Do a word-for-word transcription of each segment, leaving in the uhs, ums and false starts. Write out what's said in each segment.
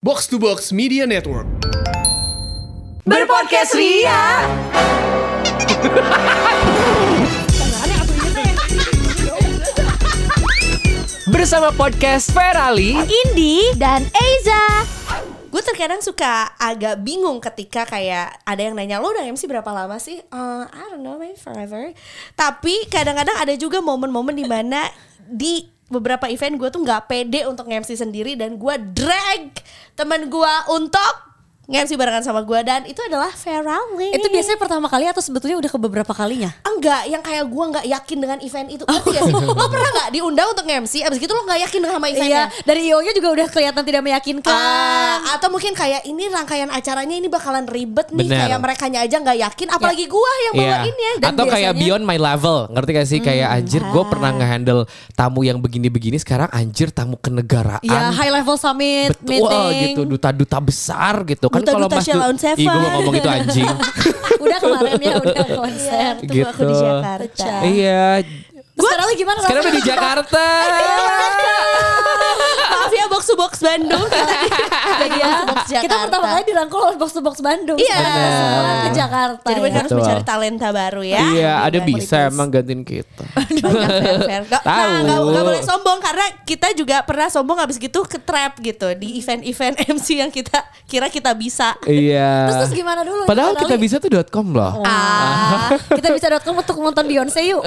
Box to Box Media Network. Berpodcast Ria. Bersama podcast Ferali, Indi dan Eiza. Gue terkadang suka agak bingung ketika kayak ada yang nanya, lo udah M C berapa lama sih? Uh, I don't know, maybe forever. Tapi kadang-kadang ada juga momen-momen di mana di beberapa event gue tuh nggak pede untuk nge-M C sendiri dan gue drag teman gue untuk nge-M C barengan sama gue, dan itu adalah Ferali. Itu biasanya pertama kali atau sebetulnya udah ke beberapa kalinya? Enggak, yang kayak gue nggak yakin dengan event itu. Ngerti gak sih? Lo pernah nggak diundang untuk nge-M C, abis gitu lo nggak yakin sama eventnya? Iya, dari I O-nya juga udah kelihatan tidak meyakinkan. Uh, atau mungkin kayak ini rangkaian acaranya ini bakalan ribet nih. Bener. Kayak merekanya aja gak yakin, apalagi gue yang bawainnya. Dan atau kayak beyond my level, ngerti gak sih? Hmm, kayak anjir gue pernah nge-handle tamu yang begini-begini, sekarang anjir tamu kenegaraan. Iya, high level summit. Betul, meeting. gitu, duta-duta besar gitu kan. Kalau Duta-duta Mas Sheila on Seven. Ih, gue mau ngomong itu anjing. Udah kemarin ya, udah konser. Tunggu Gitu. aku di Jakarta. Iya. Sekarang lagi gimana? Sekarang udah di Jakarta. Maaf ya, box to box Bandung. Jadi ya, box Jakarta. Kita pertama kali dirangkul oleh Box to Box Bandung. Iya. Semua ke Jakarta. Jadi ya. mereka harus Betul. mencari talenta baru ya. Iya, ada Dengan bisa politis. emang gantiin kita. Banyak fair-fair. Gak, Tahu. nah, gak, gak boleh sombong karena kita juga pernah sombong abis gitu ke trap gitu di event-event M C yang kita kira kita bisa. Iya. Terus terus gimana dulu? Padahal kita Ferali? bisa tuh .com loh. Ah, Kita bisa .com untuk nonton Beyonce yuk.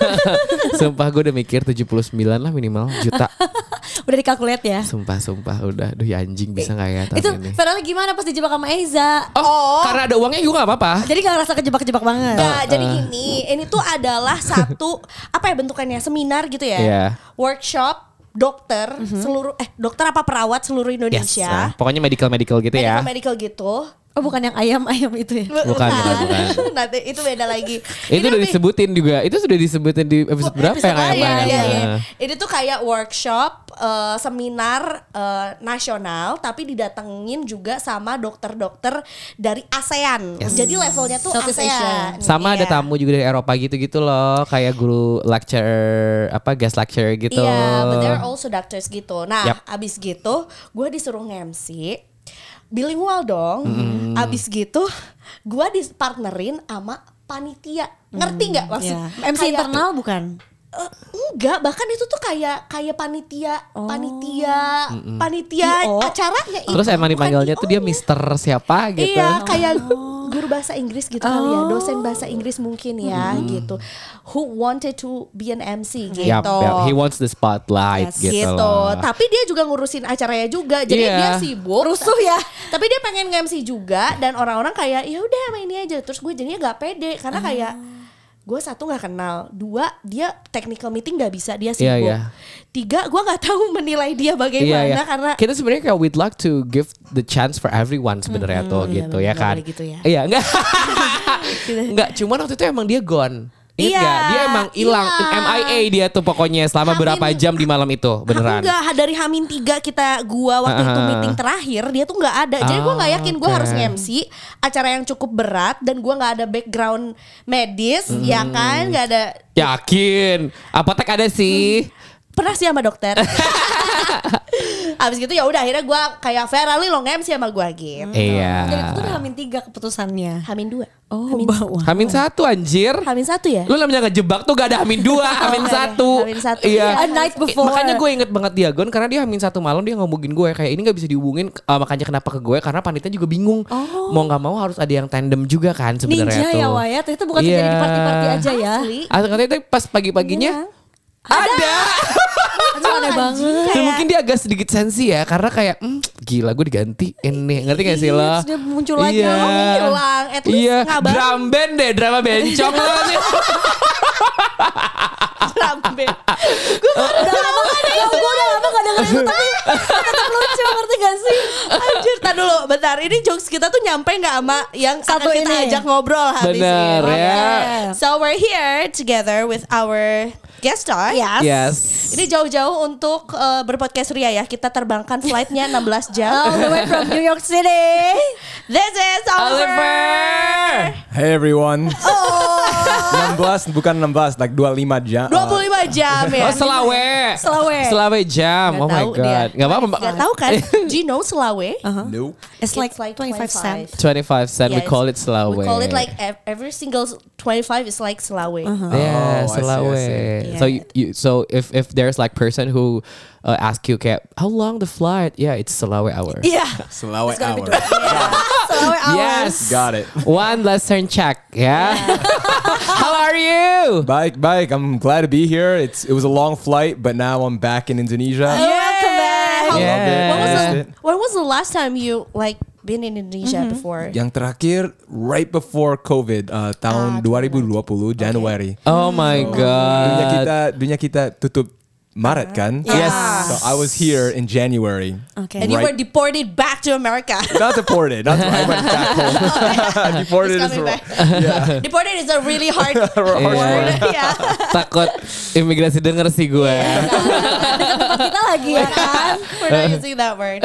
Sumpah gue udah mikir tujuh puluh sembilan lah minimal juta. Udah dikalkulat ya. Sumpah sumpah udah. Duh ya anjing bisa gak ya tahun Itu ini. Ferali gimana pas dijebak sama Eiza? Oh, karena ada uangnya juga gak apa-apa. Jadi gak ngerasa kejebak-kejebak banget. Nah, jadi gini, ini tuh adalah satu apa ya bentukannya, seminar gitu ya, Iya. workshop dokter seluruh eh dokter apa perawat seluruh Yes. Indonesia, Nah, pokoknya medical-medical gitu ya. medical medical gitu. Oh bukan yang ayam-ayam itu ya? Bukan, bukan, bukan. Nanti itu beda lagi. Itu udah lebih- disebutin juga. Itu sudah disebutin di episode berapa episode yang lain, ayam-ayam? iya, iya. Nah. Ini tuh kayak workshop eh, seminar eh, nasional, tapi didatengin juga sama dokter-dokter dari ASEAN. Yes. Jadi levelnya tuh Southeast ASEAN. Sama ada Iya. tamu juga dari Eropa gitu-gitu loh. Kayak guru lecturer, apa guest lecturer gitu. Iya, but they're also doctors gitu. Nah, Yap. abis gitu, gue disuruh nge-M C, bilingual dong. Mm. Abis gitu, gue dipartnerin sama panitia. Ngerti nggak maksud? Ya. M C Kayak- internal bukan? Eh, enggak, bahkan itu tuh kayak kayak panitia, Oh. panitia, panitia I O. acaranya. I O, Terus emang bukan dipanggilnya I O tuh dia nya. mister siapa gitu. Iya, kayak guru bahasa Inggris gitu kali ya, dosen bahasa Inggris mungkin ya gitu. Who wanted to be an M C gitu. Yap, yap. He wants the spotlight Yes, gitu, gitu. loh. Tapi dia juga ngurusin acaranya juga. Jadi Iya. dia sibuk. Rusuh ya. Tapi dia pengen nge-M C juga, dan orang-orang kayak ya udah sama ini aja. Terus gue jadinya gak pede karena kayak gue satu nggak kenal, dua dia technical meeting nggak bisa, dia sibuk. Iya, iya. Tiga gue nggak tahu menilai dia bagaimana Iya, iya. karena Kita sebenarnya kayak we'd like to give the chance for everyone sebenarnya tuh iya, gitu bener, ya nggak kan. boleh gitu ya. Iya, enggak. Enggak, cuman waktu itu emang dia gone. Ingat Iya, gak? Dia emang hilang, iya. M I A dia tuh pokoknya selama Hamin- berapa jam di malam itu, beneran. Enggak, dari Hamin tiga kita gua waktu itu Ah. meeting terakhir dia tuh nggak ada. Jadi gua nggak yakin gua Ah, harus oke. nge-M C acara yang cukup berat dan gua nggak ada background medis, ya kan? Nggak ada. Yakin? Apotek ada sih. Pernah sih sama dokter. Abis gitu ya udah akhirnya gue kayak Ferali lo nge-M C sama gue gitu. Iya. Dan itu udah hamin tiga keputusannya. Hamin dua. Oh, Hamin, bawah. Hamin satu anjir. Hamin satu ya? Lu namanya ngejebak tuh gak ada Hamin dua, Hamin nggak ada. satu. Hamin satu. Iya. A night before. Makanya gue inget banget dia Gon, karena dia Hamin satu malam dia ngomongin gue kayak ini gak bisa dihubungin, uh, makanya kenapa ke gue karena panitia juga bingung. Oh. Mau nggak mau harus ada yang tandem juga kan sebenarnya Ninja tuh. ya Waya, itu bukan Iya. terjadi di party-party aja ya. Asli. Ah, katanya itu pas pagi-paginya ada. Itu aneh banget. Dan mungkin dia agak sedikit sensi ya karena kayak hmm, gila gue diganti ini, ngerti gak sih lo? Terus dia muncul lagi. Iya. Oh, hilang. At least Iya, ngabarin. drum band deh, drama bencong lo. Drum band. Udah lama gak ada. Gue udah lama gak denger itu tapi tetap lucu, ngerti gak sih? Anjir, tar dulu, bentar. Ini jokes kita tuh nyampe nggak sama yang Satu akan kita ini. ajak ngobrol habis Bener ini. ya. Oke. So we're here together with our guest star. Yes. Yes. Ini jauh-jauh untuk uh, berpodcast Ria ya. Kita terbangkan flightnya enam belas jam. All the way from New York City. This is Oliver. Oliver. Hey everyone. enam belas bukan enam belas, like dua puluh lima jam. dua puluh lima jam ya. Oh Selawe. Selawe. Selawe jam. Nggak Oh my tahu dia. god. Gak apa-apa Mbak. Gak tahu kan? Do you know Selawe? Nope. It's like, It's like twenty-five cent. twenty-five cent. We Yes. call it Selawe. We call it like ev- every single twenty-five is like Selawe. Yeah, Oh, I see, I Selawe. see. So you, you so if if there's like person who uh, ask you kayak how long the flight? Yeah, it's Selawe hour. Yeah. Selawat It's gonna be hour. Selawe hours. Yes. Got it. One lesson check. Yeah. How are you? Baik, baik. I'm glad to be here. It's it was a long flight, but now I'm back in Indonesia. Welcome back. How- Yeah. When was, the, Missed it. when was the last time you like been in Indonesia before? Yang terakhir right before COVID, uh, tahun Ah, dua ribu dua puluh Januari. Oh my Dunia god. kita dunia kita tutup Maret kan? Yes. So I was here in January. Okay. And you Right. were deported back to America. Not deported. Not I went back home. deported He's is coming wrong. back. Deported is a really hard word. Yeah. Takut imigrasi denger sih gue. Tempat kita lagi ya kan. We're not using that word.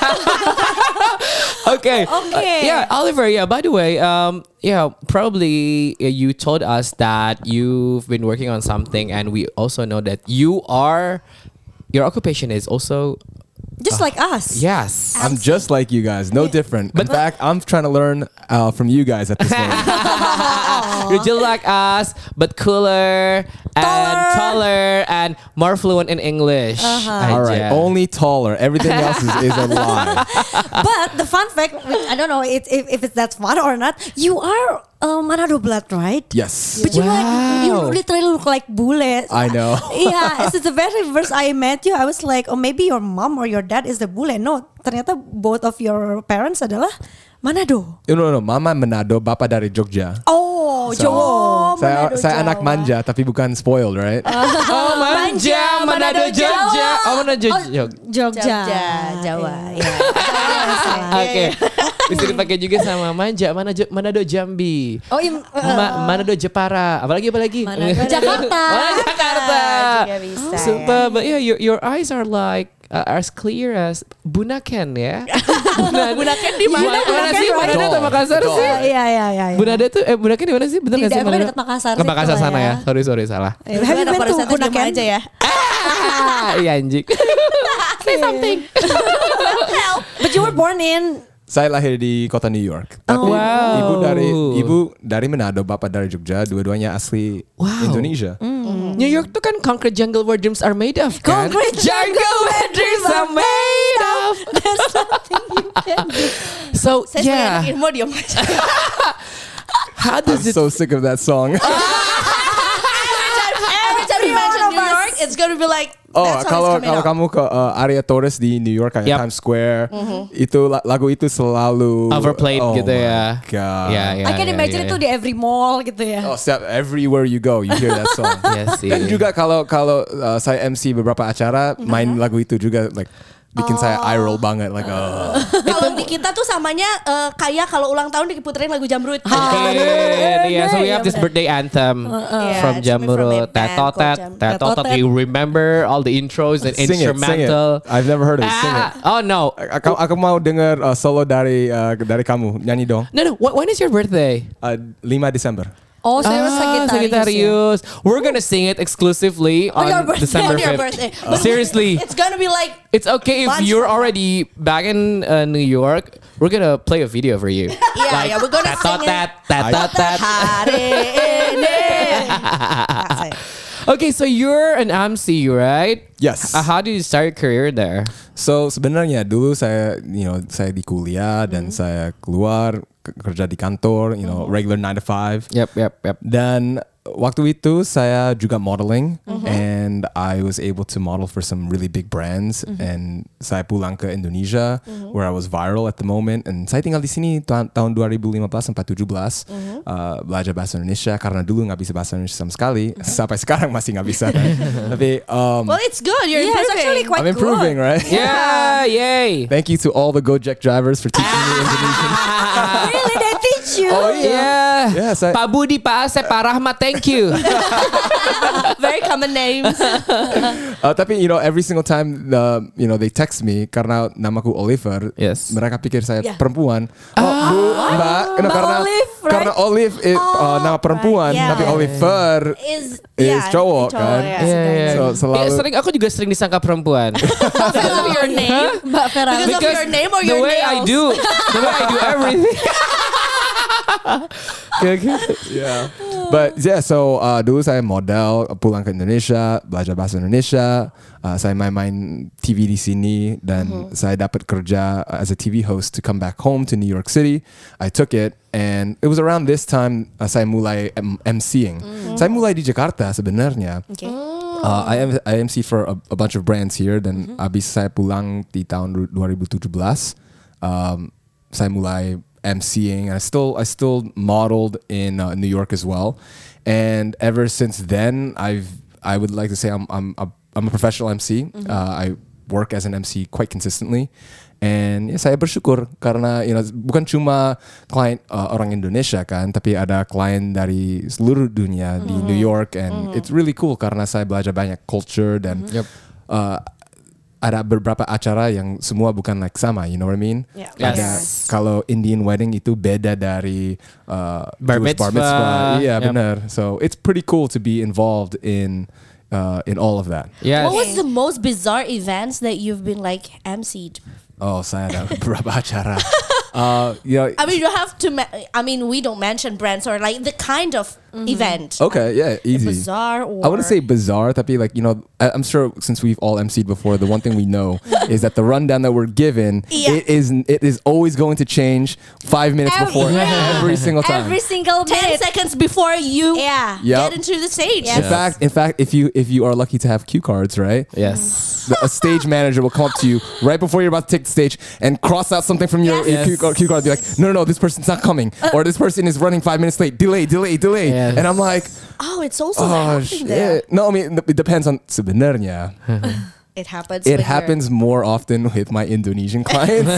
Okay. Okay. Uh, yeah, Oliver. Yeah. By the way, um, yeah, probably uh, you told us that you've been working on something, and we also know that you are, your occupation is also Just like us. yes. I'm just like you guys, no different. In fact, I'm trying to learn uh, from you guys at this moment. You're just like us, but cooler and Taller. taller and more fluent in English. All right, Aja. only taller. Everything else is, is a lie. But the fun fact, which I don't know it, if, if it's that's fun or not, you are uh, Manado blood, right? Yes, But you like you Wow. literally look like bule. I know. Yeah, since the very first I met you, I was like, oh maybe your mom or your dad is the bule. No, ternyata both of your parents adalah Manado. No, no, no. Mama Manado, Bapa dari Jogja. Oh, So, Jawa. saya, Manado, saya anak Jawa. manja tapi bukan spoiled, right? Oh, manja, Manado, Jogja. Oh, Manado, Jogja. Jogja. Jogja, Jawa. Iya. Oke. Bisa dipakai juga sama manja, Manado, Manado Jambi. Oh, im, Ma- Manado Jepara. Apalagi apalagi? Manado Jakarta. Oh, Jakarta. Juga bisa, Super. But yeah, your your eyes are like uh, as clear as Bunaken ya. Bunaken di mana? Mana, mana sih? Betul. Manado atau Makassar Betul. sih? Iya, iya, iya. iya. Bunada tuh eh Bunaken di mana sih? Bener Di nggak sih? daerah Manado? dekat Makassar Ke situ Makassar lah sana ya. ya. Sorry sorry salah. Have you been Pada to saat diem Bunaken? aja ya. Ah, iya anjing. Say something. But you were born in Saya lahir di kota New York. Tapi Wow. ibu dari ibu dari Manado, bapak dari Jogja, dua-duanya asli Wow. Indonesia. New York tuh kan concrete jungle where dreams are made of kan? Concrete jungle where dreams are made of. There's nothing you can do. So Saya yeah, sebagai anak ilmu diam aja. how I'm does it? so sick of that song. Every time you mention New York, it's gonna be like Oh, that song kalau is coming kalau up. kamu ke uh, area Torres di New York kayak Yep. Times Square, itu la- lagu itu selalu Overplayed oh gitu ya. my God. Ya, ya, I can ya, imagine ya, itu ya. di every mall gitu ya. Oh, step everywhere you go, you hear that song. Yes, Dan iya. juga kalau kalau uh, saya M C beberapa acara, main lagu itu juga like bikin saya eye roll banget like oh. Kalau di kita tuh samanya eh, kayak kalau ulang tahun diputerin lagu Jamrut. Okay, yeah, so we have this birthday anthem Yeah, from it's coming from Jamrut. a band called Tetotet, Jam- Tetotet. Tetotet. You remember all the intros and Sing it, sing it. instrumental. I've never heard of it. Sing it. Ah, oh no, Aku, aku mau dengar uh, solo dari uh, dari kamu nyanyi dong. no no. Wh- When is your birthday? Uh, lima Desember. Oh, saya Ah, Sagittarius. ya. Sagittarius. We're gonna sing it exclusively On your on birthday. December On your fifth. birthday. Seriously, It's gonna be like it's okay if Bunch you're of- already back in uh, New York. We're gonna play a video for you. yeah, yeah, we're gonna sing it. Tetotet, tetotet. Hari ini. Okay, so you're an M C, right? Yes. Uh, how did you start your career there? So sebenarnya dulu saya, you know, saya di kuliah dan Mm-hmm. saya keluar ke- kerja di kantor, you know, regular nine to five. Yep, yep, yep. Dan waktu itu saya juga modeling, Mm-hmm. and I was able to model for some really big brands. Mm-hmm. And saya pulang ke Indonesia, where I was viral at the moment. And saya tinggal di sini ta- tahun dua ribu lima belas sampai tujuh belas, Mm-hmm. uh, belajar bahasa Indonesia karena dulu nggak bisa bahasa Indonesia sama sekali. Sampai sekarang masih nggak bisa. Kan? Tapi um, Well, it's good. You're Yeah, it's improving. actually quite I'm improving, good. right? Yeah, yay. Thank you to all the Gojek drivers for teaching me Indonesian. Really, they teach you? Oh Yeah. Yeah, saya- Pak Budi, Pak Asep, Pak Rahmat, thank you. Very common names. Uh, tapi you know every single time the you know they text me karena namaku Oliver, Yes. mereka pikir saya Yeah. perempuan. Oh, Bu, Mbak, you know, Mbak karena Olive, right? karena Olive it, uh, nama perempuan, right, yeah. tapi Oliver Is is yeah, cowok cowok, kan. yeah. Yeah, yeah. So selalu Ya, sering aku juga sering disangka perempuan. Because of your name. Mbak Vera. Because of your name or the your way I nails? do, the way I do everything. Kayak gitu. Yeah. But yeah, so uh, dulu saya model, pulang ke Indonesia, belajar bahasa Indonesia. Uh, saya main-main T V di sini dan saya dapat kerja as a T V host to come back home to New York City. I took it and it was around this time uh, saya mulai M- MCing. Saya mulai di Jakarta sebenarnya. Okay. Uh, I, M- I M C for a, a bunch of brands here dan abis saya pulang di tahun dua ribu tujuh belas, um, saya mulai MCing. I still I still modeled in uh, New York as well, and ever since then I've I would like to say I'm I'm a, I'm a professional M C. Uh, I work as an M C quite consistently, and ya, saya bersyukur karena you know bukan cuma klien uh, orang Indonesia kan, tapi ada klien dari seluruh dunia di New York, and it's really cool karena saya belajar banyak culture dan uh, ada beberapa acara yang semua bukan like sama, you know what I mean? Yeah. Ada Yes. kalau Indian wedding itu beda dari uh, Bar Jewish bar mitzvah. mitzvah. Iya Yep. benar. So it's pretty cool to be involved in uh, in all of that. Yes. What was the most bizarre events that you've been like M C'd? Oh, saya ada beberapa acara. Uh, you know, I mean, you have to. Ma- I mean, we don't mention brands or like the kind of event. okay, yeah, easy. Bizarre or I wouldn't say bizarre, tapi like you know, I- I'm sure since we've all M C'd before, the one thing we know is that the rundown that we're given, Yeah. it is it is always going to change five minutes Every- before yeah. every single time. Every single ten minute. seconds before you Yeah. Yep. get into the stage. In fact, in fact, if you if you are lucky to have cue cards, right? Yes. The, a stage manager will come up to you right before you're about to take the stage and cross out something from your, your Yes. cue, card, cue card. Be like, no, no, no, this person's not coming, or this person is running five minutes late. Delay, delay, delay. Yes. And I'm like, Oh, it's also oh happening there. shit. No, I mean it depends on sebenarnya. It happens. It when you're- happens more often with my Indonesian clients.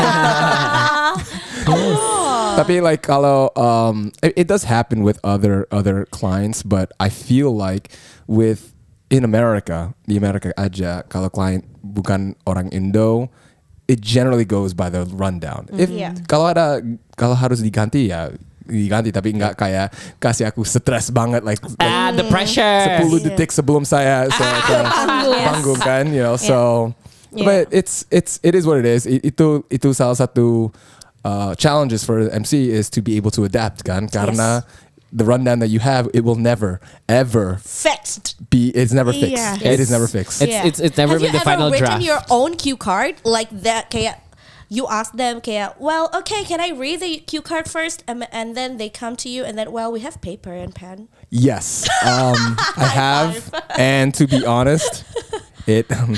Tapi like kalau um, it, it does happen with other other clients, but I feel like with in America, di Amerika aja, kalau klien bukan orang Indo, it generally goes by the rundown. If Yeah. kalau ada kalau harus diganti ya diganti, tapi nggak kayak kasih aku stres banget like, like Ah, the pressure. sepuluh detik sebelum saya saya ke panggung kan, you know. So, Yeah. but it's it's it is what it is. I- Itu itu salah satu uh, challenges for M C is to be able to adapt kan, karena the rundown that you have, it will never ever fixed. be. It's never fixed. Yeah. It is It's- never fixed. It's it's it's never Have been you the final ever written draft. your own cue card like that? Kayak you ask them, kayak, well, okay, can I read the cue card first? Um, and then they come to you, and then, well, we have paper and pen. Yes, um, I have, and to be honest, it um,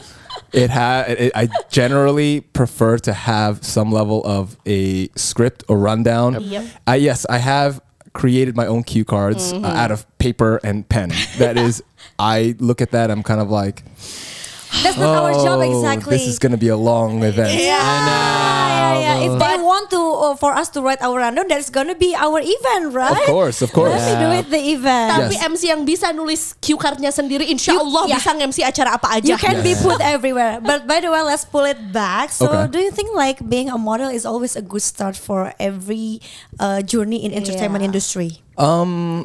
it ha- it, I generally prefer to have some level of a script or rundown. Yep. I yes, I have created my own cue cards uh, out of paper and pen. That is, I look at that, I'm kind of like, That's not our job "Oh, exactly. this is gonna be a long event. yeah, yeah, yeah. If they want to uh, for us to write our rundown, that's gonna be our event, right? Of course, of course. Let me do it the event. Tapi Yes. M C yang bisa nulis cue cardnya sendiri, insya You- Allah yeah. bisa nge-M C acara apa aja. You can be put everywhere. But by the way, let's pull it back. So, Okay. do you think like being a model is always a good start for every uh, journey in entertainment Yeah. industry? Um,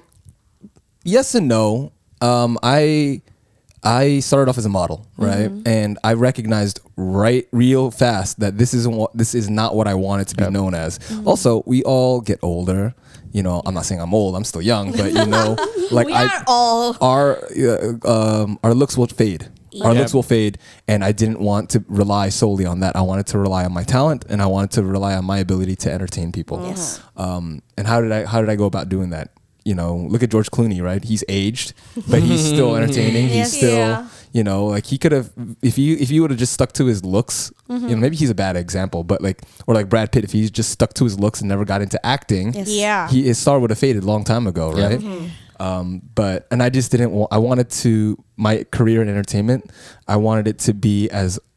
yes and no. Um, I I started off as a model, right? And I recognized right real fast that this isn't what this is not what I wanted to be known as. Also, we all get older. You know, I'm not saying I'm old. I'm still young, but you know, like We I, are all. our uh, um, our looks will fade. Our Yep. looks will fade, and I didn't want to rely solely on that. I wanted to rely on my talent, and I wanted to rely on my ability to entertain people. Yes. Um, and how did I how did I go about doing that? You know, look at George Clooney, right? He's aged, but he's still entertaining. He's Yes. still, Yeah. you know, like he could have if you if you would have just stuck to his looks. You know, maybe he's a bad example, but like or like Brad Pitt, if he just stuck to his looks and never got into acting, Yes. Yeah. he his star would have faded a long time ago, Yeah. right? Um, but and I just didn't want. I wanted to my career in entertainment. I wanted it to be as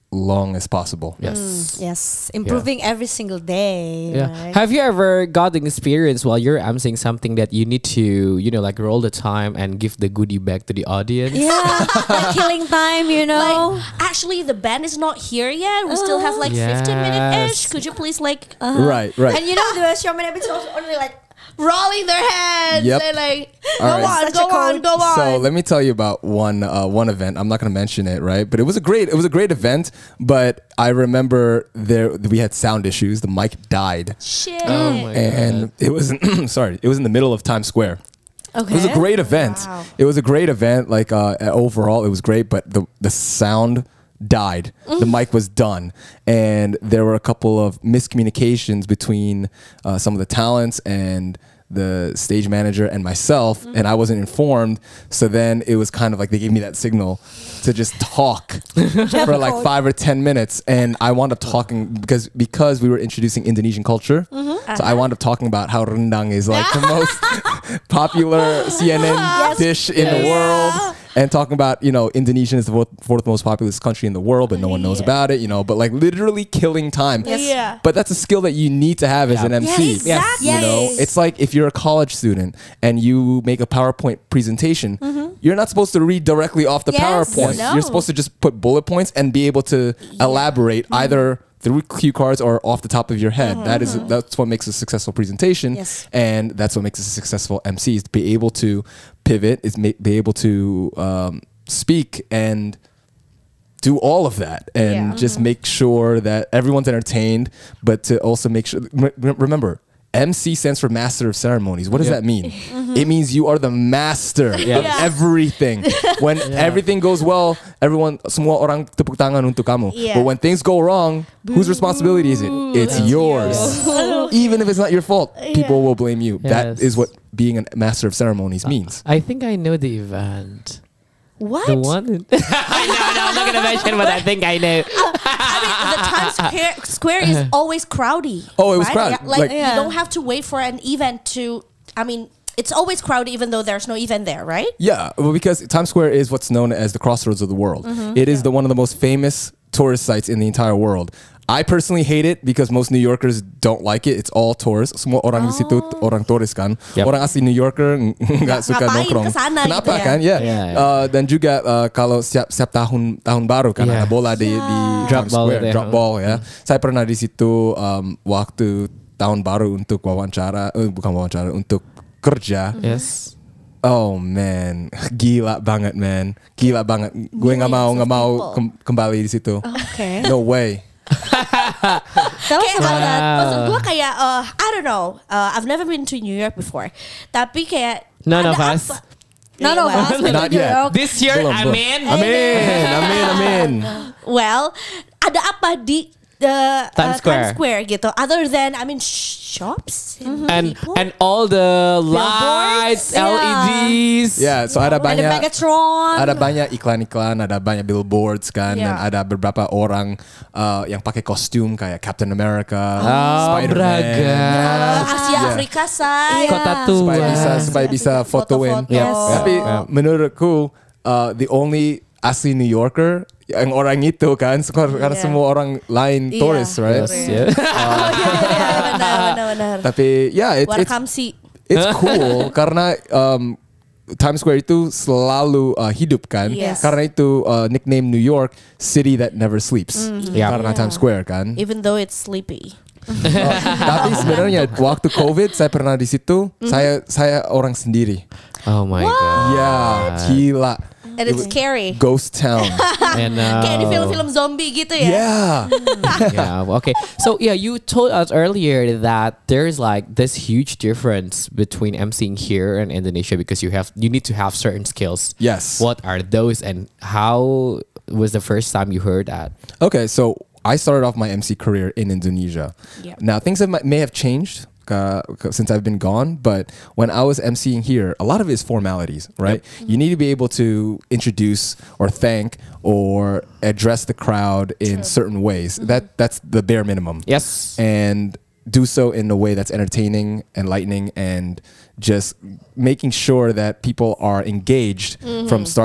long as possible. Yes. Yes, improving every single day. Yeah. right? Have you ever got the experience while you're emceeing something that you need to, you know, like roll the time and give the goodie back to the audience? Yeah, like killing time, you know. Like, actually, the band is not here yet. We still have like fifteen minute ish. Yes. Could you please like Right, right. And you know the showman episodes only like rolling their heads Yep. and like go All right. on, Such a go on, code. go on. So let me tell you about one uh, one event. I'm not going to mention it, right? But it was a great it was a great event. But I remember there we had sound issues. The mic died, Shit. Oh my and it was sorry, it was in the middle of Times Square. okay. It was a great event. Wow. It was a great event. Like uh, overall, it was great. But the the sound died. The mic was done, and there were a couple of miscommunications between uh, some of the talents and the stage manager and myself, and I wasn't informed. So then it was kind of like they gave me that signal to just talk for like five or ten minutes, and I wound up talking because because we were introducing Indonesian culture. So I wound up talking about how rendang is like the most popular C N N dish in the world, and talking about, you know, Indonesia is the fourth, fourth most populous country in the world, but no one knows about it, you know, but like literally killing time. Yes. Yeah. But that's a skill that you need to have as Yeah. an M C. Yes, exactly. You know, it's like if you're a college student and you make a PowerPoint presentation, you're not supposed to read directly off the Yes. PowerPoint. No. You're supposed to just put bullet points and be able to elaborate either through cue cards or off the top of your head. That is that's what makes a successful presentation, Yes. and that's what makes a successful M C, is to be able to pivot, is ma- be able to um, speak and do all of that, and Yeah. just make sure that everyone's entertained, but to also make sure. Re- remember, M C stands for Master of Ceremonies. What does Yeah. that mean? It means you are the master of Yeah. everything. When everything goes well, everyone, semua orang tepuk tangan untuk kamu. Yeah. But when things go wrong, whose responsibility is it? It's yours. Even if it's not your fault, people will blame you. That Yes. is what being a master of ceremonies means. I think I know the event. What? The one. no, no, I'm not gonna mention, but I think I know. I mean, the Times Square, Square is always crowdy. Oh, it was right? crowded. Yeah, like, Like- you Yeah. don't have to wait for an event to. I mean, it's always crowded even though there's no event there, right? Yeah, well, because Times Square is what's known as the crossroads of the world. It is the one of the most famous tourist sites in the entire world. I personally hate it because most New Yorkers don't like it. It's all tourists. Semua orang di situ orang turis kan. Yep. Orang asli New Yorker ng- nggak suka ngapain nongkrong. kesana Kenapa gitu ya? kan? Ya. Yeah, yeah. Uh, dan juga uh, kalau setiap setiap tahun tahun baru kan Yeah. ada bola di di Drop Times ball Square, itu ya. drop ball ya. Saya pernah di situ um, waktu tahun baru untuk wawancara, eh, bukan wawancara, untuk kerja. Yes. Oh man, gila banget man, gila banget. Gue nggak mau nggak mau kem- kembali di situ. Okay. No way. Tell us Kayak about that. Wow. maksud gue kayak uh, I don't know, uh, I've never been to New York before, tapi kayak None ada of us. apa- None of Well, us been to Not New yet. York. This year, Belum, belum. amin. Amin, amin, amin. Well, ada apa di the uh, Times Square. Times Square gitu? Other than I mean shops And people? and all the lights, Yeah. L E Ds. Ya, so ada Ada banyak, Megatron. ada banyak iklan-iklan, ada banyak billboards kan, dan Yeah. ada beberapa orang uh, yang pakai kostum kayak Captain America, Oh, Spider-Man. beragam. Asia Yeah. Afrika say. Iya. Kota tua. supaya bisa supaya bisa fotoin. Foto-foto. Yes. Tapi Yeah. menurutku uh, the only asli New Yorker yang orang itu kan, karena Yeah. semua orang lain Iya. tourist, right? Yes, yeah. Iya, benar, benar, benar. Tapi ya, it, it's Welcome sih. it's cool karena um, Times Square itu selalu uh, hidup kan. Yes. Karena itu uh, nickname New York City that never sleeps. Yeah. Karena Times Square kan. Even though it's sleepy. Uh, tapi sebenarnya waktu COVID saya pernah di situ. Saya saya orang sendiri. Oh my god. Ya, gila. And it's scary. Ghost town. And uh, Kayak di film-film zombie gitu ya. Yeah. yeah. well, Okay. So yeah, you told us earlier that there's like this huge difference between emceeing here and Indonesia because you have you need to have certain skills. Yes. What are those, and how was the first time you heard that? Okay, so I started off my M C career in Indonesia. Yeah. Now things have, may have changed uh, since I've been gone, but when I was emceeing here, a lot of it is formalities, right? You need to be able to introduce or thank or address the crowd in certain ways. That that's the bare minimum. Yes. And do so in a way that's entertaining, enlightening, and just making sure that people are engaged from start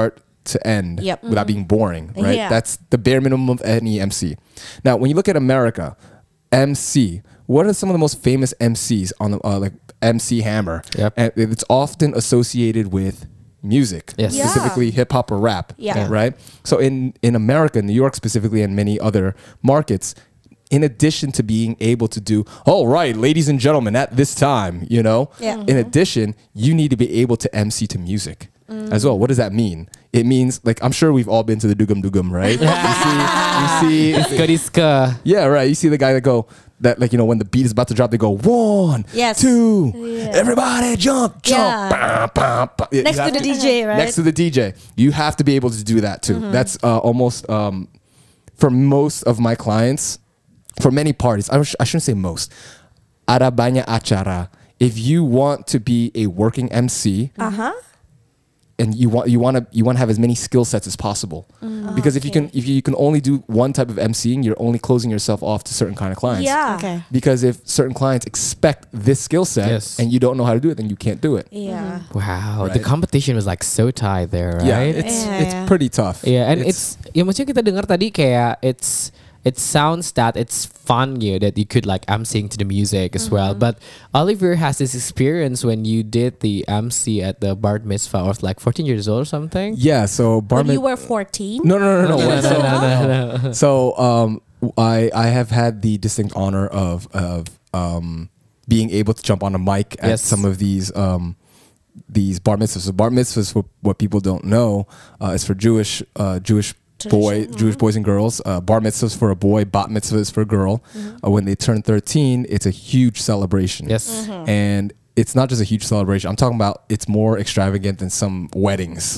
to end Yep. without being boring, right? Yeah. That's the bare minimum of any M C. Now, when you look at America, M C, what are some of the most famous M Cs on the uh, like M C Hammer? Yep. And it's often associated with music, Yes. Yeah. specifically hip hop or rap, Yeah. right? So in in America, New York specifically, and many other markets, in addition to being able to do, all right, ladies and gentlemen, at this time, you know, Yeah. in addition, you need to be able to M C to music as well. What does that mean? It means, like, I'm sure we've all been to the Dugum Dugum, right? you see, you see, Iska diska. yeah, right. You see the guy that go, that, like, you know, when the beat is about to drop, they go, one, Yes. two, Yeah. everybody jump, jump. Yeah. Bah, bah, bah. You Next to have the D J, right? Next to the D J. You have to be able to do that too. That's uh, almost, um, for most of my clients, for many parties, I, sh- I shouldn't say most, ada banyak acara. If you want to be a working M C, Uh huh. and you want you want to you want to have as many skill sets as possible, because if you can if you can only do one type of emceeing, you're only closing yourself off to certain kind of clients. Yeah. Okay. Because if certain clients expect this skill set Yes. and you don't know how to do it, then you can't do it. Yeah. Wow, the Right. competition was like so tight there, right? Yeah, it's Yeah, it's yeah. pretty tough. Yeah, and it's, ya maksudnya kita dengar tadi kayak it's it sounds that it's fun you that you could like emceeing to the music as well. But Oliver has this experience when you did the M C at the bar mitzvah of like fourteen years old or something. Yeah. So bar When you mit- were fourteen. no no no no. No, no, so, no, no, no. so um I I have had the distinct honor of of um being able to jump on a mic at Yes. some of these um these bar mitzvahs. So bar mitzvahs, for what people don't know, uh, is for Jewish uh, Jewish boy Jewish boys and girls. Uh, bar mitzvahs for a boy, bat mitzvahs for a girl. Uh, when they turn thirteen, it's a huge celebration. Yes. And it's not just a huge celebration. I'm talking about it's more extravagant than some weddings.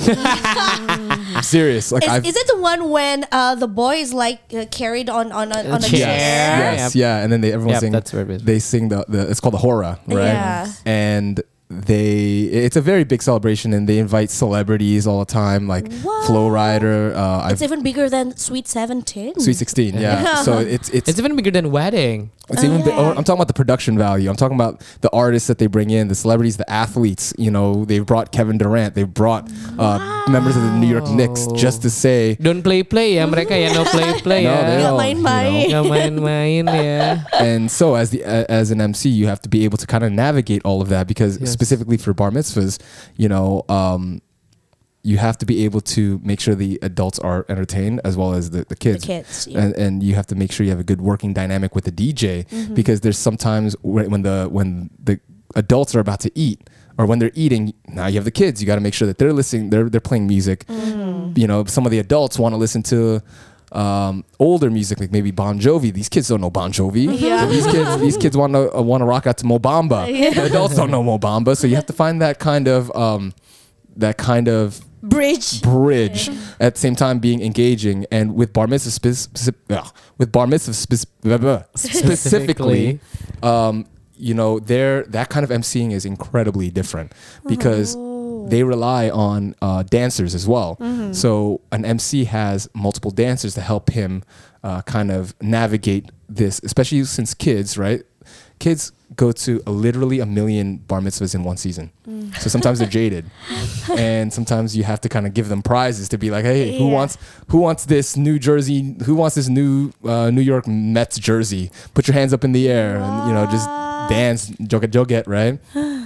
I'm serious. Like Is, I've is it the one when uh, the boy is like uh, carried on on a, on a chair. chair? Yes, Yep. yeah, and then they everyone Yep, sing. that's where it is. They sing the, the it's called the hora, right? Yeah. And they it's a very big celebration, and they invite celebrities all the time, like What? Flow Rider. Uh, It's I've even bigger than Sweet Seventeen. Sweet Sixteen, yeah. So it's it's It's even bigger than wedding. It's even. bi- yeah. oh, I'm talking about the production value. I'm talking about the artists that they bring in, the celebrities, the athletes. You know, they've brought Kevin Durant. They've brought uh, members of the New York Knicks just to say. Don't play play ya mereka ya, no play play No, ya. they Nggak don't, main-main. you know. Nggak main-main ya. And so, as the uh, as an M C, you have to be able to kind of navigate all of that, because Yes. specifically for bar mitzvahs, you know, um, you have to be able to make sure the adults are entertained as well as the, the kids. kids, yeah. And, and you have to make sure you have a good working dynamic with the D J, because there's sometimes when when the when the adults are about to eat, or when they're eating, now you have the kids. You got to make sure that they're listening. They're they're playing music. You know, some of the adults want to listen to um, older music, like maybe Bon Jovi. These kids don't know Bon Jovi. Yeah. So these kids these kids want to uh, want to rock out to Mobamba. The adults don't know Mobamba, so you have to find that kind of um, that kind of Bridge. bridge at the same time being engaging. And with bar mitzvah spec- spec- ugh, with bar mitzvah spec- blah, blah, specifically, um, you know, there that kind of emceeing is incredibly different, because they rely on uh, dancers as well. So an M C has multiple dancers to help him uh, kind of navigate this, especially since kids, right? Kids go to a, literally a million bar mitzvahs in one season. So sometimes they're jaded, and sometimes you have to kind of give them prizes to be like, hey, who Yeah. wants who wants this New Jersey, who wants this new uh, New York Mets jersey? Put your hands up in the air and, you know, just dance, joget joget, right?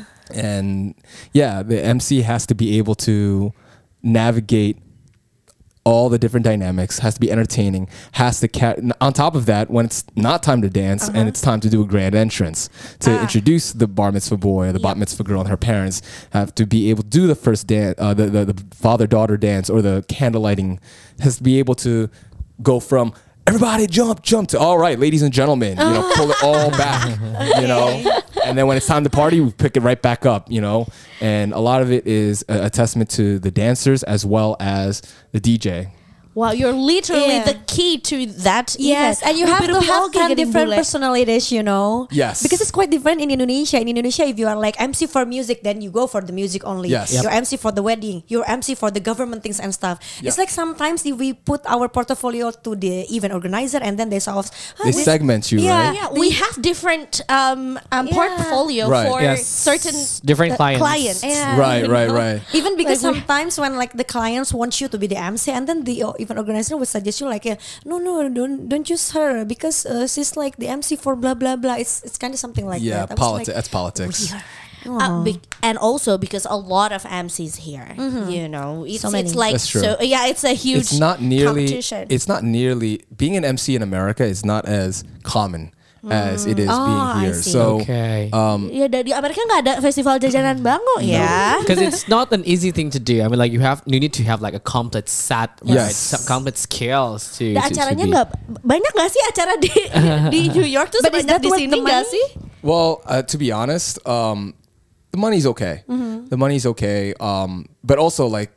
And yeah, the M C has to be able to navigate all the different dynamics, has to be entertaining, has to ca- on top of that, when it's not time to dance and it's time to do a grand entrance to Ah. introduce the bar mitzvah boy or the bat Yep. mitzvah girl, and her parents have to be able to do the first dance, uh, the, the, the father-daughter dance or the candle lighting, has to be able to go from everybody jump, jump to all right, ladies and gentlemen, you know, pull it all back, you know, and then when it's time to party, we pick it right back up, you know, and a lot of it is a, a testament to the dancers as well as the D J. Wow, you're literally Yeah. the key to that. Yes, event. and you have to Rupi-rupi have oke kind of jadi different bule. personalities, you know. Yes. Because it's quite different in Indonesia. In Indonesia, if you are like M C for music, then you go for the music only. Yes. Yep. You're M C for the wedding. You're M C for the government things and stuff. It's Yeah. like sometimes if we put our portfolio to the event organizer, and then they sort of ah, They this- segment you, Yeah, right? Yeah, we have different um, um Yeah. portfolio Right. for Yes. certain Different uh, clients. clients. Yeah, Right, you right, know? right. Even because Like we- sometimes when like the clients want you to be the M C, and then the uh, event organizer would suggest you like, uh, no, no, don't don't use her because uh, she's like the M C for blah blah blah. It's it's kind of something like yeah, that. I was politics. like, That's politics. Uh, be- and also because a lot of M Cs here, you know, it's, So many. it's like That's true. so yeah, it's a huge It's not nearly. competition. It's not nearly being an M C in America is not as common as it is Oh, being I here. see. So Okay. um, ya dari Amerika nggak ada festival jajanan bango ya. Because it's not an easy thing to do. I mean, like you have, you need to have like a complete set, right? Yes. Some complete skills to. Dan to- to acaranya be- nggak banyak nggak sih acara di di New York tuh But is sebanyak that di worth sini the nggak money? sih? well, uh, to be honest, um, the money's okay. Mm-hmm. The money's okay. Um, but also like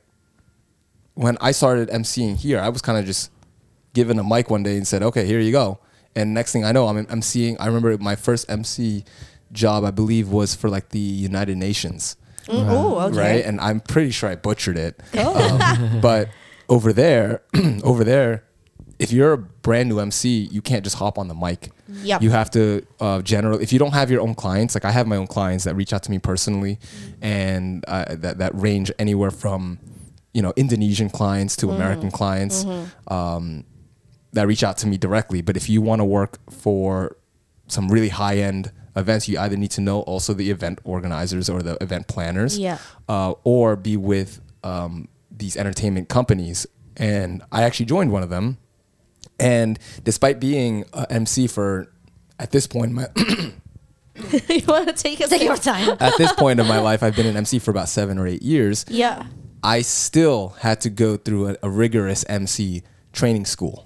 when I started emceeing here, I was kind of just given a mic one day and said, "Okay, here you go." And next thing I know, I'm emceeing. I remember my first M C job, I believe, was for like the United Nations. Oh, okay. Right? And I'm pretty sure I butchered it. Um, but over there, over there, if you're a brand new M C, you can't just hop on the mic. Yep. You have to uh, general. If you don't have your own clients, like I have my own clients that reach out to me personally, and uh, that that range anywhere from, you know, Indonesian clients to American clients. Um, that reach out to me directly. But if you want to work for some really high end events, you either need to know also the event organizers or the event planners, Yeah. uh, or be with um, these entertainment companies. And I actually joined one of them. And despite being a M C for, at this point in my You want to take a take your sip? time. at this point in my life, I've been an M C for about seven or eight years. Yeah. I still had to go through a, a rigorous M C training school.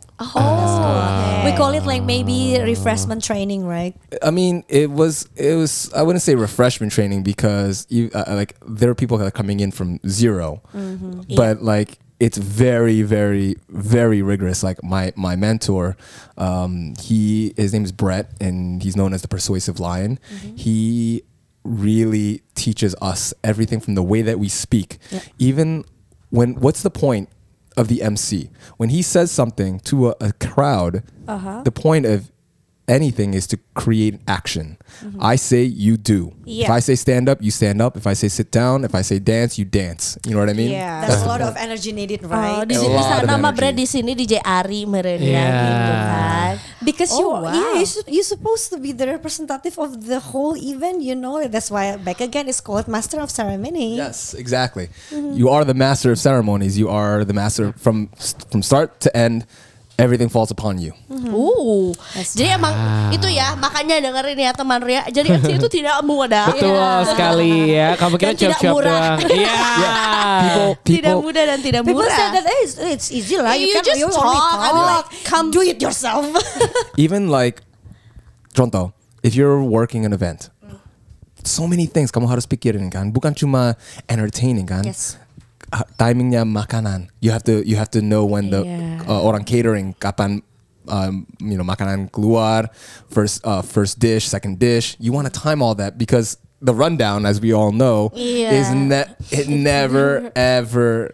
Oh, we call it like maybe refreshment training, right? I mean, it was it was I wouldn't say refreshment training because you uh, like there are people that are coming in from 0 but like it's very very very rigorous. Like my my mentor, um, he his name is Brett and he's known as the Persuasive Lion. He really teaches us everything from the way that we speak, even when what's the point of the M C when he says something to a, a crowd. The point of anything is to create action. I say, you do. If Yeah. I say stand up, you stand up. If I say sit down, if I say dance, you dance. You know what I mean? Yeah. There's a the lot point. of energy needed, Oh, right? di A sini lot of nama energy. Brad di sini D J Ari merenya Yeah. gitu kan. Because Oh, you, wow. yeah, you su- you're supposed to be the representative of the whole event, you know. That's why back again it's called Master of Ceremony. Yes, exactly. You are the master of ceremonies. You are the master from from start to end. Everything falls upon you. Uh, jadi emang itu ya makanya dengerin ya teman Ria. Jadi M C itu tidak mudah. Betul sekali ya. Kamu kira Dan tidak cuap-cuap murah. doang. Iya. People, Tidak people, mudah dan tidak People murah. say that eh, it's, it's easy lah. You You, can just you only talk, talk. I'm like, come do it yourself. even like, contoh, if you're working an event, so many things kamu harus pikirin kan. Bukan cuma entertaining kan. Yes. Uh, timingnya makanan. You have to you have to know when the Yeah. uh, orang catering kapan um, you know makanan keluar, first uh, first dish, second dish. You want to time all that because the rundown, as we all know, Yeah. is ne- it never ever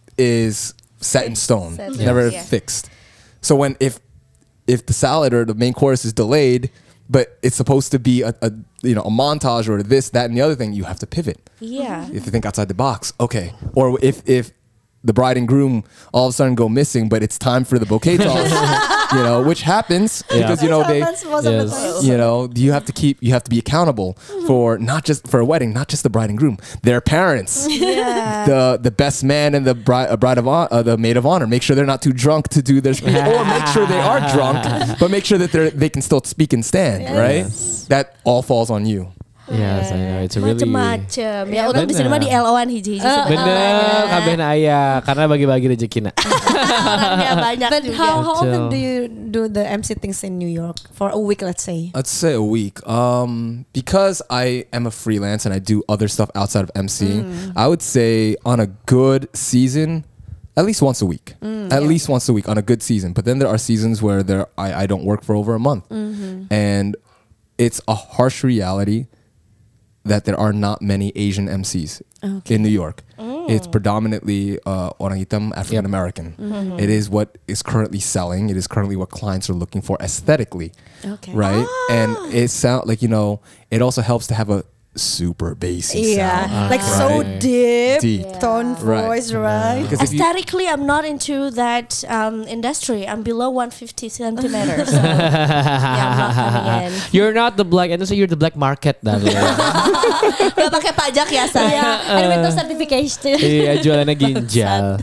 is set in stone. Set It's never yeah. fixed. So when if if the salad or the main course is delayed, but it's supposed to be a, a you know a montage or this, that, and the other thing, you have to pivot. Iya. If you think outside the box, okay. Or if if the bride and groom all of a sudden go missing, but it's time for the bouquet toss, you know, which happens Yeah. because you know they, Happens most of the Yes. time. you know, you have to keep, you have to be accountable for not just for a wedding, not just the bride and groom, their parents, Yeah. the the best man and the bride, uh, bride of hon- uh, the maid of honor. Make sure they're not too drunk to do their speech, or make sure they are drunk, but make sure that they are they can still speak and stand, right? That all falls on you. Yes, I know. It's a really Macem-macem. Ya untuk di sini bener. mah di L O-an hiji-hiji bener kabeh ayah karena bagi-bagi rezekina. Orangnya banyak But juga. how, how often Betul. do you do the M C things in New York for a week, let's say? Let's say a week. Um, because I am a freelance and I do other stuff outside of emceeing, I would say on a good season, at least once a week. Mm, at least once a week on a good season. But then there are seasons where there I, I don't work for over a month. Mm-hmm. And it's a harsh reality that there are not many Asian M Cs Okay. in New York. It's predominantly uh, orang hitam, African American. Mm-hmm. It is what is currently selling. It is currently what clients are looking for aesthetically, Okay. right? And it sound like, you know, it also helps to have a super bassy Yeah, sound. like so right? deep, Deep. tone Right. voice, right? Because if you, Aesthetically, I'm not into that um, industry. I'm below one hundred fifty centimeters. So, yeah, I'm not coming in. You're not the black, and so you're the black market darling. Gak pakai pajak ya saya. Yeah, and with no certification. Iya, jualannya ginjal.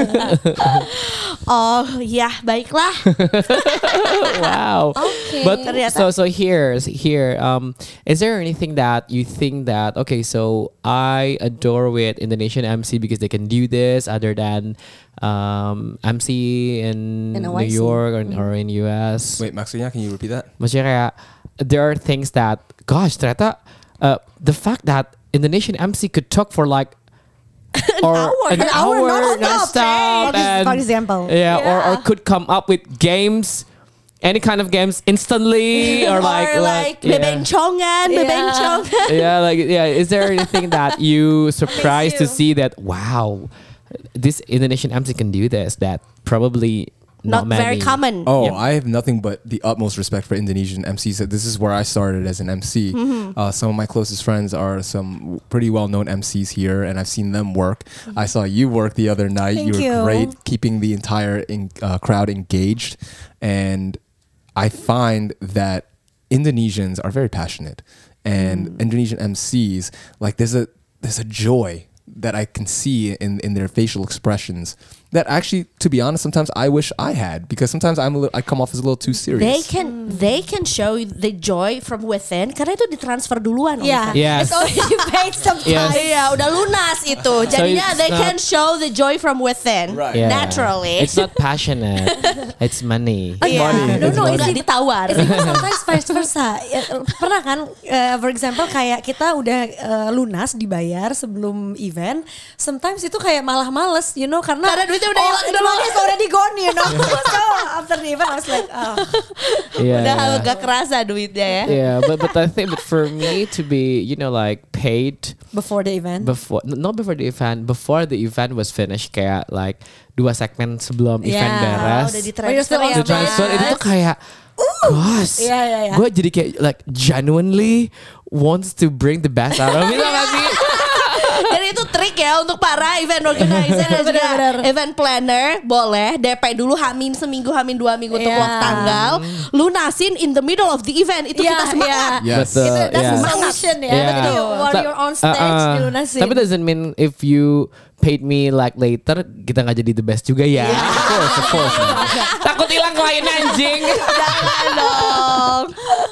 Oh ya, baiklah. Wow. Okay. But Ternyata. so so here here um is there anything that you think that okay, so I adore with Indonesian M C because they can do this other than um M C in In New Y C. York or, or in U S? wait, maksudnya, can you repeat that? Maksudnya kayak there are things that gosh ternyata uh, the fact that Indonesian M C could talk for like or hour. an An hour hour non-stop. non-stop For and- for example. yeah, Or, or Yeah. could come up with games, any kind of games instantly, or like or like yeah. bebencongan, Yeah. bebencongan. yeah, like yeah. Is there anything that you surprised to you. see that wow, this Indonesian M C can do this? That probably not, Not very many. common. Oh, Yep. I have nothing but the utmost respect for Indonesian M Cs. This is where I started as an M C. Mm-hmm. Uh, some of my closest friends are some pretty well-known M Cs here, and I've seen them work. I saw you work the other night. Thank you were you. great, keeping the entire in, uh, crowd engaged. And I find that Indonesians are very passionate, and Indonesian M Cs, like there's a there's a joy that I can see in in their facial expressions that actually, to be honest, sometimes I wish I had, because sometimes I'm a little, I come off as a little too serious. They can they can show the joy from within karena itu ditransfer duluan. Yeah, Oliver. Yes. it's already paid sometimes. Yes. Iya, udah lunas itu. Jadinya it's they not- can show the joy from within Right. Yeah. naturally. It's not passionate. It's money. Iya. money. No, It's no, money. udah ditawar. It's even sometimes vice versa. Ya, pernah kan, uh, for example kayak kita udah uh, lunas dibayar sebelum event, sometimes itu kayak malah males, you know, karena Karena duitnya udah oh, hilang the dulu. money is already gone, you know. So after the event I was like, oh. Yeah. Udah agak kerasa duitnya ya. Yeah, but but I think but for me to be you know like paid Before the event. before n- not before the event before the event was finished kayak like dua segmen sebelum Yeah, event beres Udah Oh, you're still ditransfer on ya. the transfer Yes. itu tuh kayak gosh Iya, iya, iya. gue jadi kayak like genuinely wants to bring the best out of me tau gak sih? Jadi itu trik ya untuk para event organizer dan juga Benar-benar. event planner. Boleh D P dulu hamin seminggu, hamin dua minggu untuk Yeah. lock tanggal. Lunasin in the middle of the event. Itu Yeah, kita semangat. yeah. Yes. Betul, Itu that's yeah. the solution ya. Yeah. Jadi while Ta- you're on stage uh-uh. dilunasin. Tapi doesn't mean if you paid me like later kita nggak jadi the best juga ya. Of course, of course. Takut hilang klien anjing. Jangan dong.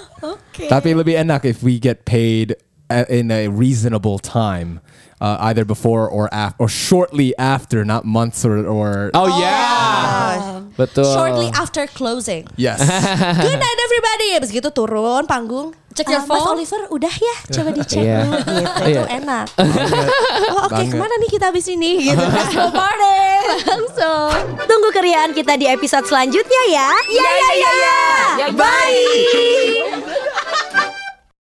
Tapi lebih enak if we get paid uh, in a reasonable time, uh, either before or after, or shortly after, not months or or. Oh yeah. Betul. Shortly after closing. Yes. Good night everybody. Abis gitu turun panggung. Check your Ah, Mas phone. Oliver udah ya, coba dicek Iya. dulu gitu. Itu Iya. enak. Oh, oke, Banget. kemana nih kita abis ini gitu. Go party. Langsung. Tunggu keriaan kita di episode selanjutnya ya. Ya ya ya. ya. Bye.